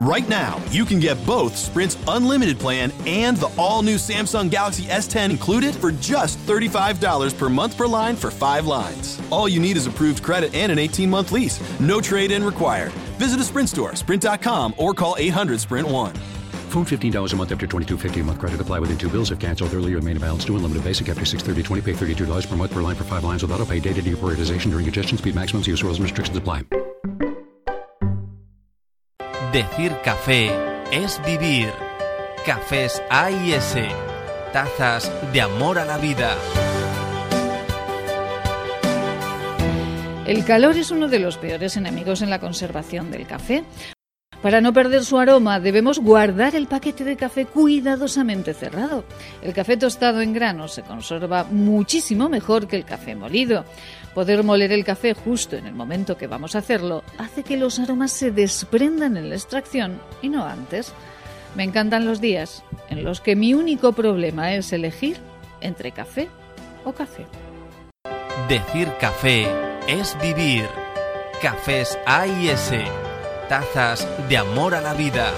Right now, you can get both Sprint's unlimited plan and the all-new Samsung Galaxy S10 included for just $35 per month per line for 5 lines. All you need is approved credit and an 18-month lease. No trade-in required. Visit a Sprint store, sprint.com, or call 800-SPRINT-1. Phone $15 a month after $22.50 a month. Credit apply within 2 bills. If canceled earlier, main balance due. Unlimited basic after $630.20. Pay $32 per month per line for 5 lines with auto pay. Data deprioritization during congestion. Speed maximums. Use rules and restrictions apply. Decir café es vivir. Cafés A&S. Tazas de amor a la vida. El calor es uno de los peores enemigos en la conservación del café. Para no perder su aroma, debemos guardar el paquete de café cuidadosamente cerrado. El café tostado en grano se conserva muchísimo mejor que el café molido. Poder moler el café justo en el momento que vamos a hacerlo hace que los aromas se desprendan en la extracción y no antes. Me encantan los días en los que mi único problema es elegir entre café o café. Decir café es vivir. Cafés A&S. Tazas de amor a la vida.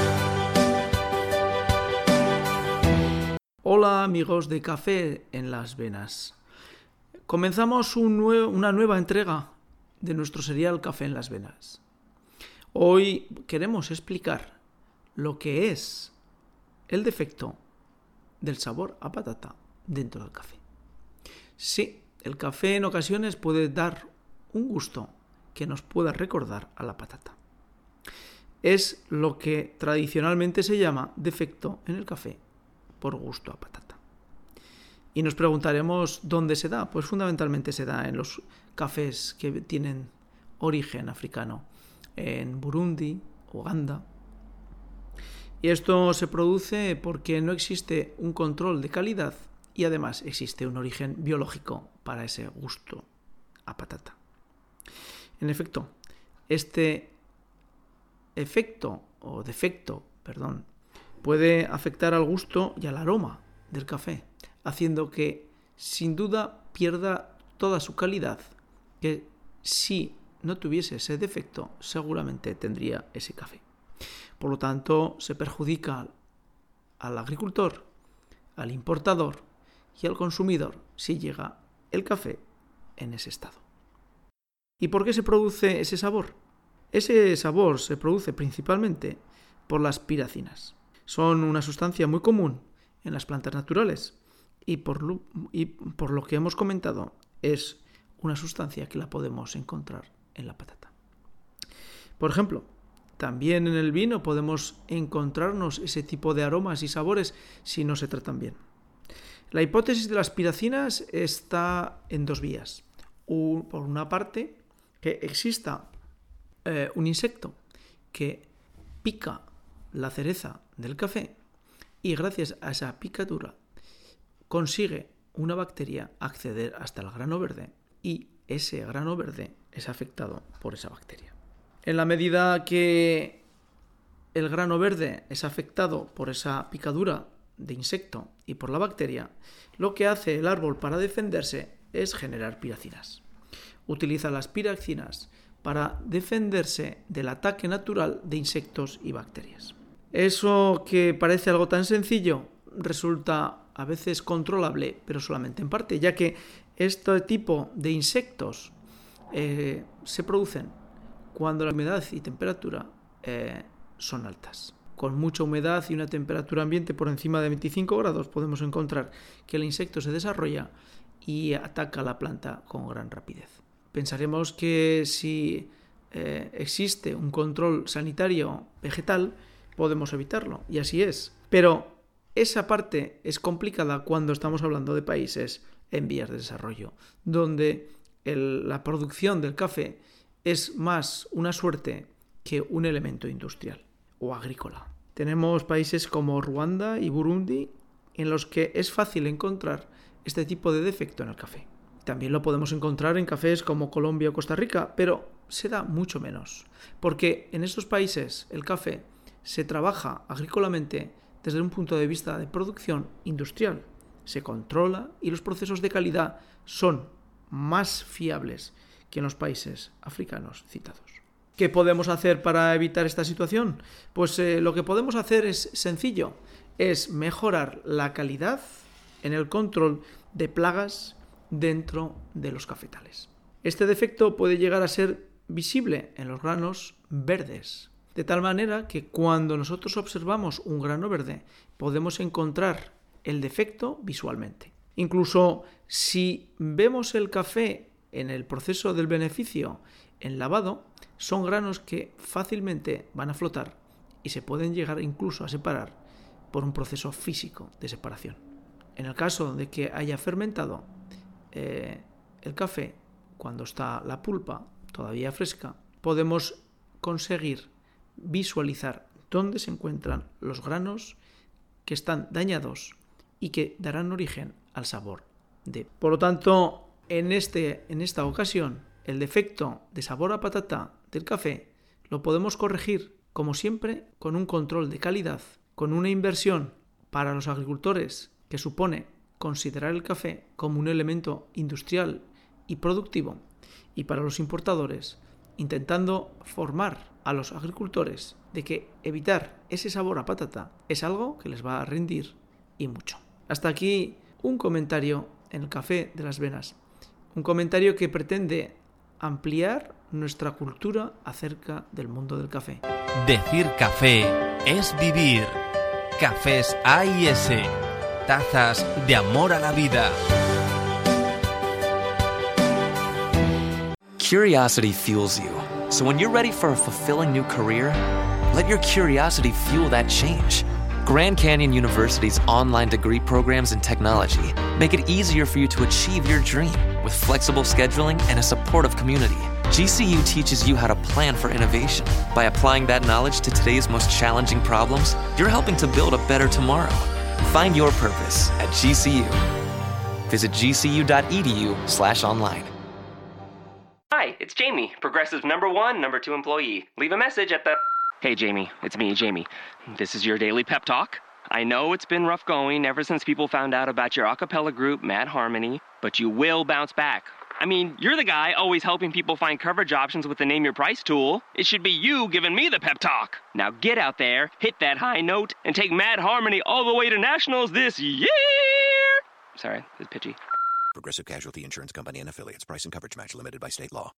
Hola amigos de Café en las Venas. Comenzamos una nueva entrega de nuestro serial Café en las Venas. Hoy queremos explicar lo que es el defecto del sabor a patata dentro del café. Sí, el café en ocasiones puede dar un gusto que nos pueda recordar a la patata. Es lo que tradicionalmente se llama defecto en el café por gusto a patata. Y nos preguntaremos dónde se da. Pues fundamentalmente se da en los cafés que tienen origen africano, en Burundi, Uganda. Y esto se produce porque no existe un control de calidad y además existe un origen biológico para ese gusto a patata. En efecto, este defecto, puede afectar al gusto y al aroma del café, haciendo que sin duda pierda toda su calidad, que si no tuviese ese defecto seguramente tendría ese café. Por lo tanto, se perjudica al agricultor, al importador y al consumidor si llega el café en ese estado. ¿Y por qué se produce ese sabor? Ese sabor se produce principalmente por las piracinas. Son una sustancia muy común en las plantas naturales y por lo que hemos comentado es una sustancia que la podemos encontrar en la patata. Por ejemplo, también en el vino podemos encontrarnos ese tipo de aromas y sabores si no se tratan bien. La hipótesis de las piracinas está en 2 vías. Por una parte, que exista un insecto que pica la cereza del café y gracias a esa picadura consigue una bacteria acceder hasta el grano verde y ese grano verde es afectado por esa bacteria. En la medida que el grano verde es afectado por esa picadura de insecto y por la bacteria, lo que hace el árbol para defenderse es generar piracinas. Utiliza las piracinas para defenderse del ataque natural de insectos y bacterias. Eso que parece algo tan sencillo resulta a veces controlable, pero solamente en parte, ya que este tipo de insectos se producen cuando la humedad y temperatura son altas. Con mucha humedad y una temperatura ambiente por encima de 25 grados podemos encontrar que el insecto se desarrolla y ataca a la planta con gran rapidez. Pensaremos que si existe un control sanitario vegetal, podemos evitarlo, y así es. Pero esa parte es complicada cuando estamos hablando de países en vías de desarrollo, donde la producción del café es más una suerte que un elemento industrial o agrícola. Tenemos países como Ruanda y Burundi en los que es fácil encontrar este tipo de defecto en el café. También lo podemos encontrar en cafés como Colombia o Costa Rica, pero se da mucho menos, porque en estos países el café se trabaja agrícolamente desde un punto de vista de producción industrial. Se controla y los procesos de calidad son más fiables que en los países africanos citados. ¿Qué podemos hacer para evitar esta situación? Pues lo que podemos hacer es sencillo, es mejorar la calidad en el control de plagas dentro de los cafetales. Este defecto puede llegar a ser visible en los granos verdes, de tal manera que cuando nosotros observamos un grano verde podemos encontrar el defecto visualmente. Incluso si vemos el café en el proceso del beneficio en lavado, son granos que fácilmente van a flotar y se pueden llegar incluso a separar por un proceso físico de separación. En el caso de que haya fermentado el café, cuando está la pulpa todavía fresca, podemos conseguir visualizar dónde se encuentran los granos que están dañados y que darán origen al sabor de. Por lo tanto, en esta ocasión, el defecto de sabor a patata del café lo podemos corregir, como siempre, con un control de calidad, con una inversión para los agricultores que supone considerar el café como un elemento industrial y productivo, y para los importadores, intentando formar a los agricultores de que evitar ese sabor a patata es algo que les va a rendir y mucho. Hasta aquí un comentario en el Café de las Venas, un comentario que pretende ampliar nuestra cultura acerca del mundo del café. Decir café es vivir. Cafés A&S, tazas de amor a la vida. Curiosity fuels you. So when you're ready for a fulfilling new career, let your curiosity fuel that change. Grand Canyon University's online degree programs in technology make it easier for you to achieve your dream with flexible scheduling and a supportive community. GCU teaches you how to plan for innovation. By applying that knowledge to today's most challenging problems, you're helping to build a better tomorrow. Find your purpose at GCU. Visit gcu.edu/online. Hi, it's Jamie, Progressive's #1, #2 employee. Leave a message at the... Hey, Jamie, it's me, Jamie. This is your daily pep talk. I know it's been rough going ever since people found out about your a cappella group, Mad Harmony, but you will bounce back. I mean, you're the guy always helping people find coverage options with the Name Your Price tool. It should be you giving me the pep talk. Now get out there, hit that high note, and take Mad Harmony all the way to nationals this year! Sorry, it's pitchy. Progressive Casualty Insurance Company and Affiliates. Price and coverage match limited by state law.